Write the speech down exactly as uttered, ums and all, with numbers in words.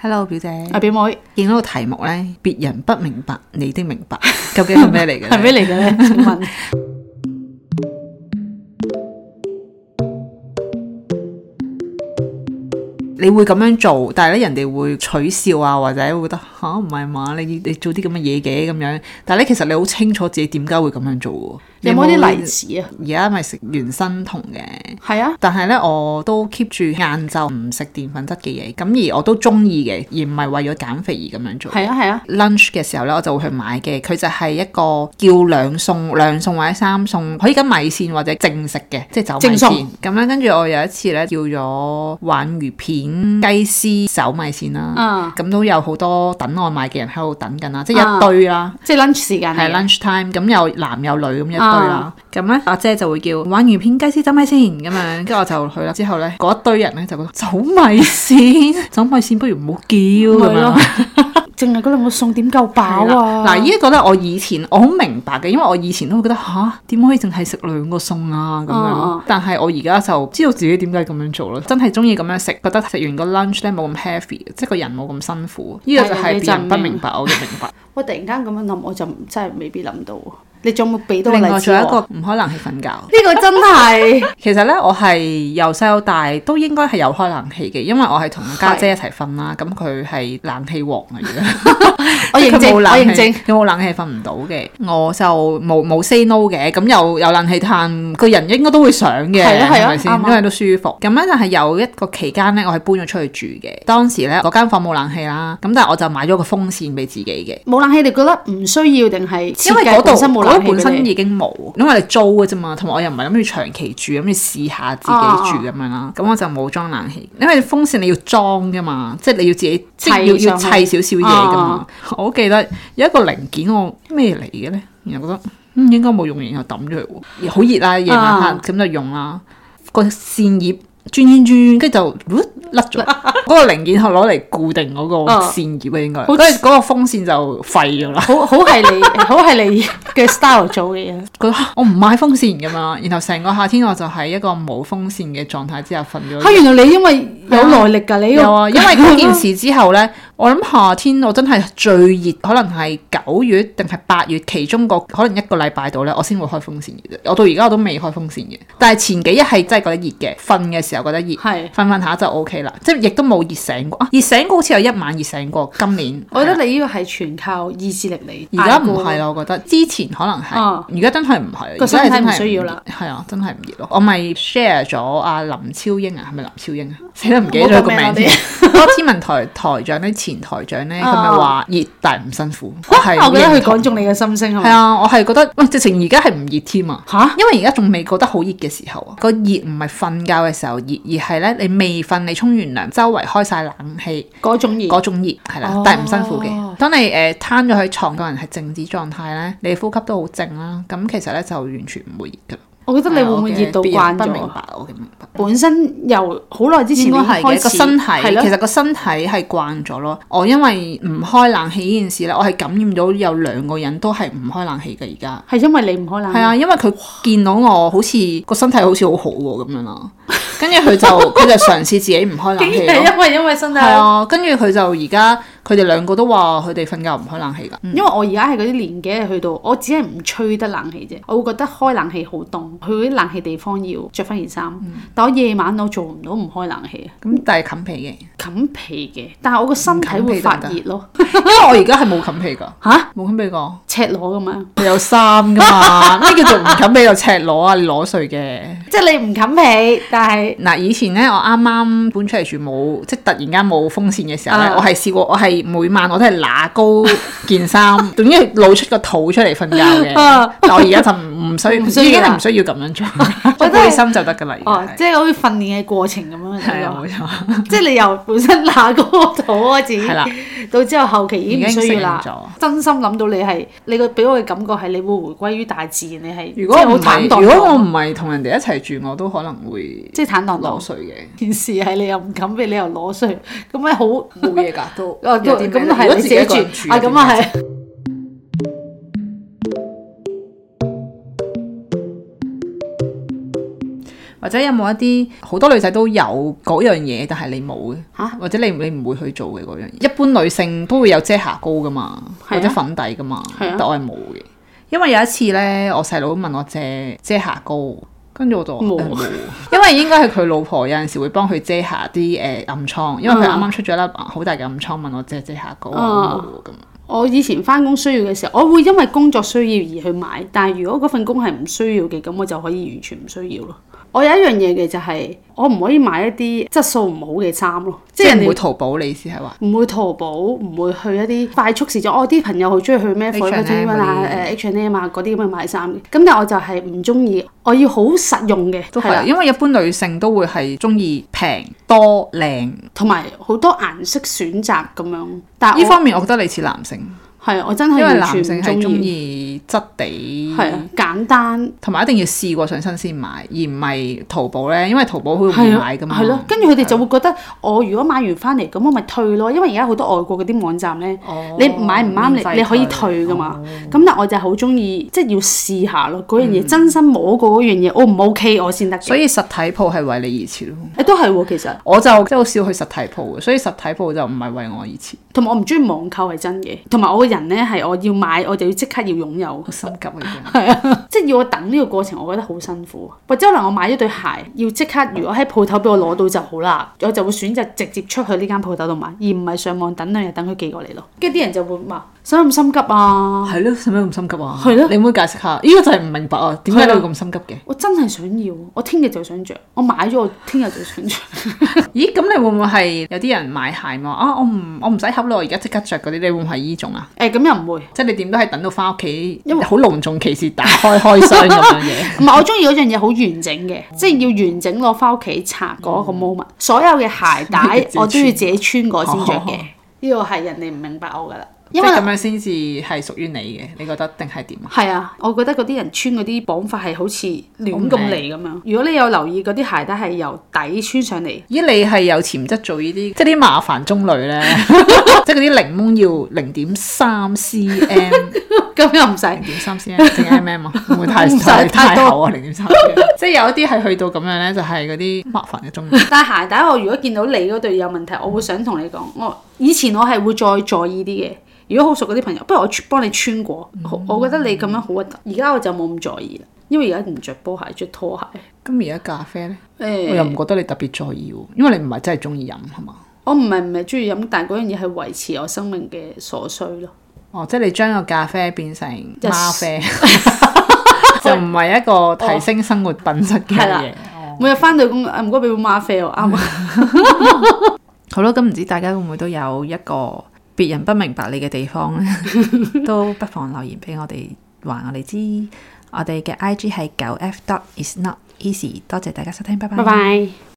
Hello 表姐， 阿表妹， 見到個題目咧，別人不明白你的明白，究竟係咩嚟嘅？ 係咩嚟嘅咧？請問你會咁樣做，但係咧人哋會取笑啊，或者會覺得吓唔係嘛？你你做啲咁嘅嘢嘅咁樣，但係咧其實你好清楚自己點解會咁樣做喎。 有冇啲例子啊？ 而家咪食原生酮嘅， 係啊， 但係咧我都 keep 住晏晝唔食澱粉質嘅嘢，咁而我都中意嘅，而唔係為咗減肥而咁樣做。係啊係啊。lunch 嘅時候咧，我就會去買嘅，佢就係一個叫兩餸、兩餸或者三餸，可以跟米線或者正食嘅，即係走米線。咁咧，跟住我有一次咧叫咗鯇魚片雞絲走米線啦，咁、嗯、都有好多等外賣嘅人喺度等緊啦，即係一堆啦， 嗯、即係 lunch 時間係 lunch time， 咁有男有女咁一堆啦，咁咧阿姐就會叫鯇魚片雞絲走米線咁樣，跟住我就去啦。之後咧嗰一堆人咧就覺得走米線，走米線不如唔好叫咁樣。 淨係嗰兩個餸點夠飽啊！ 嗱，呢一個咧，我以前我好明白嘅，因為我以前都會覺得吓，點可以淨係食兩個餸啊咁樣。嗯、但係我而家就知道自己點解咁樣做咯，真係中意咁樣食，覺得食完個 lunch 咧冇咁 heavy，即係個人冇咁辛苦。呢、這個就係別人不明白我嘅明白。 我突然間咁樣諗，我就真係未必諗到。你仲有冇俾到個例子？ 另外仲有一個唔開冷氣瞓覺。呢個真係其實咧，我係由細到大都應該係有開冷氣嘅，因為我係同家姐一齊瞓啦。咁佢係冷氣王嚟嘅。 我認證，我認證。 有冇冷氣瞓唔到嘅？我就冇冇 say no 嘅。咁有有冷氣嘆，個人應該都會想嘅，係咪先？因為都舒服。咁咧就係有一個期間咧，我係搬咗出去住嘅。當時咧嗰間房冇冷氣啦，咁但係我就買咗個風扇俾自己嘅。 冇冷氣，你覺得唔需要定係？ 因為嗰度嗰本身已經冇，因為你租嘅啫嘛，同埋我又唔係諗住長期住，諗住試下自己住咁樣啦。咁、啊、我就冇裝冷氣，因為風扇你要裝噶嘛，即係你要自己即係要要砌少少嘢噶嘛。啊、我好記得有一個零件我咩嚟嘅咧，然後覺得嗯應該冇用，然後抌咗佢，好熱啦，夜晚黑咁就用啦，個扇葉。轉轉轉，跟住就甩咗。嗰個零件係攞嚟固定嗰個扇葉啊，應該。嗰嗰個風扇就廢咗啦。好好係你，好係你嘅 style 做嘅嘢。 覺得我唔買風扇㗎嘛，然後成個夏天我就喺一個冇風扇嘅狀態之下瞓咗。 嚇！原來你因為有耐力㗎，你有啊，因為嗰件事之後咧，我諗夏天我真係最熱，可能係九月定係八月其中個可能一個禮拜度咧，我先會開風扇嘅啫。我到而家我都未開風扇嘅，但係前幾日係真係覺得熱嘅，瞓嘅時候覺得熱，瞓瞓下就 O K 啦，即係亦都冇熱醒過啊！熱醒過好似有一晚熱醒過，今年。 我覺得你呢個係全靠意志力嚟。 而家唔係啦，我覺得之前可能係，而家、哦、真係唔係。 個身體唔需要啦。 係啊，真係唔熱咯。我咪 share 咗阿林超英啊，係咪林超英啊？死都唔記得咗個名添。嗰個天文台台長咧，前台長咧，佢咪話熱但係唔辛苦。 我係我覺得佢講中你嘅心聲係咪？ 係啊，我係覺得喂，直情而家係唔熱添啊！嚇，因為而家仲未覺得好熱嘅時候啊，個熱唔係瞓覺嘅時候熱，而係咧你未瞓，你沖完涼，周圍開晒冷氣嗰種熱， 嗰種熱係啦，但係唔辛苦嘅。當你誒攤咗喺床，個人係靜止狀態咧，你呼吸都好靜啦，咁其實咧就完全唔會熱㗎。 我覺得你會唔會熱到慣咗？ 不明白，我嘅明白。 本身由好耐之前應該開始，個身體其實個身體係慣咗咯。我因為唔開冷氣呢件事咧，我係感染到有兩個人都係唔開冷氣嘅而家。 係因為你唔開冷氣？係啊，因為佢見到我好似個身體好似好好喎咁樣啦。跟住佢就佢就嘗試自己唔開冷氣咯。 因為因為身體係啊，跟住佢就而家佢哋兩個都話佢哋瞓覺唔開冷氣㗎。 嗯、因為我而家係嗰啲年紀係去到，我只係唔吹得冷氣啫。我會覺得開冷氣好凍，去嗰啲冷氣地方要着翻件衫。嗯、但我夜晚我做唔到唔開冷氣啊。咁但係冚被嘅， 冚被嘅，但係我個身體會發熱咯。 因為我而家係冇冚被㗎。吓？冇冚被㗎？ 赤裸㗎嘛？ 佢有衫㗎嘛？咩叫做唔冚被就赤裸啊？你裸睡嘅。 即係你唔冚被，但係嗱以前咧，我啱啱搬出嚟住冇，即係突然間冇風扇嘅時候咧，啊、我係試過，我係每晚我都係揦高件衫，總之露出個肚出嚟瞓覺嘅。啊、但我而家就唔需要，唔需要已經係唔需要咁樣做，背心就得㗎啦。 哦，即係好似訓練嘅過程咁樣。 係啊，冇錯。 即係你由本身揦高個肚開始， 係啦， 到之後後期已經唔需要啦。真心諗到你係你個俾我嘅感覺係你會回歸於大自然，你係如果好坦蕩。 如果我唔係同人哋一齊住，我都可能會即係坦蕩裸睡嘅。 件事係你又唔冚被，你又裸睡，咁咪好冇嘢㗎都。 咁係你自己住啊？咁啊係。 或者有冇一啲好多女仔都有嗰樣嘢，但係你冇嘅嚇， 或者你你唔會去做嘅嗰樣嘢。一般女性都會有遮瑕膏噶嘛，或者粉底噶嘛，但我係冇嘅。因為有一次咧，我細佬問我借遮瑕膏。跟住我就冇、呃，因為應該係佢老婆有陣時會幫佢遮下啲誒暗瘡，因為佢啱啱出咗粒好大嘅暗瘡，問我借遮瑕膏咁。 我以前翻工需要嘅時候，我會因為工作需要而去買，但係如果嗰份工係唔需要嘅，咁我就可以完全唔需要咯。我有一樣嘢嘅就係、是，我唔可以買一啲質素唔好嘅衫咯，即係人哋唔會淘寶，你意思係話？ 唔會淘寶，唔會去一啲快速時裝。我啲朋友好中意去咩 H and M 啊、誒 H and M 啊嗰啲咁去買衫嘅。咁但係我就係唔中意，我要好實用嘅。 都係，因為一般女性都會係中意平多靚， 同埋好多顏色選擇咁樣。但係呢方面，我覺得你似男性。 係啊，我真係因為男性係中意質地， 係啊，簡單， 同埋一定要試過上身先買，而唔係淘寶咧。因為淘寶好容易買噶嘛。係咯， 跟住佢哋就會覺得我如果買完翻嚟咁，我咪退咯。因為而家好多外國嗰啲網站咧，哦、你買唔啱你你可以退噶嘛。咁、哦、但我就好中意，即係要試下咯。嗰樣嘢真心摸過嗰樣嘢，O 唔 O K 我先得。所以實體鋪係為你而設咯。 誒都係喎，其實我就即係好少去實體鋪嘅，所以實體鋪就唔係為我而設。 同埋我唔中意網購係真嘅，同埋我個人咧係我要買我就要即刻要擁有， 好心急嘅。 係啊，即係要我等呢個過程，我覺得好辛苦。或者可能我買咗對鞋，要即刻如果喺鋪頭俾我攞到就好啦，我就會選擇直接出去呢間鋪頭度買，而唔係上網等兩日等佢寄過嚟咯。跟住啲人就會話：使乜咁心急啊？係咯，使乜咁心急啊？係咯，你可唔可以解釋下？呢個就係唔明白啊！點解你會咁心急嘅？我真係想要，我聽日就想着，我買咗我聽日就想着。 咦？咁你會唔會係有啲人買鞋嘛？啊，我唔我唔使考慮，我而家即刻着嗰啲，你會唔會係依種啊？ 誒，咁又唔會， 即係你點都係等到翻屋企，因為好隆重其事打開開箱咁樣嘢。 唔係，我中意嗰樣嘢好完整嘅，即係要完整攞翻屋企拆嗰個 moment。所有嘅鞋帶我都要自己穿過先着嘅。呢個係人哋唔明白我噶啦。因為咁樣先至係屬於你嘅，你覺得定係點啊？ 係啊，我覺得嗰啲人穿嗰啲綁法係好似亂咁嚟咁樣。如果你有留意嗰啲鞋帶係由底穿上嚟， 咦？你係有潛質做呢啲，即係啲麻煩中類咧，即係嗰啲檸檬要零點三 cm， 咁又唔使零點三 cm 定 mm 啊？會唔會太太太厚啊？零點三 cm， 即係有一啲係去到咁樣咧，就係嗰啲麻煩嘅中類。 但係鞋帶我如果見到你嗰對有問題，我會想同你講，我以前我係會再在意啲嘅。如果好熟嗰啲朋友，不如我幫你穿過，嗯、我覺得你咁樣好核突。而家我就冇咁在意啦，因為而家唔着波鞋，着拖鞋。 咁而家咖啡咧，欸、我又唔覺得你特別在意喎，因為你唔係真係中意飲係嘛？ 我唔係唔係中意飲，但係嗰樣嘢係維持我生命嘅所需咯。 哦，即係你將個咖啡變成嗎啡，Yes. 就唔係一個提升生活品質嘅嘢。 哦、每日翻到工，唔該俾杯嗎啡喎，啱啊。 好咯，咁唔知大家會唔會都有一個別人不明白你嘅地方咧，都不妨留言俾我哋，話我哋知。我哋嘅 I G 係九 F dot is not easy。多謝大家收聽，拜拜。拜拜。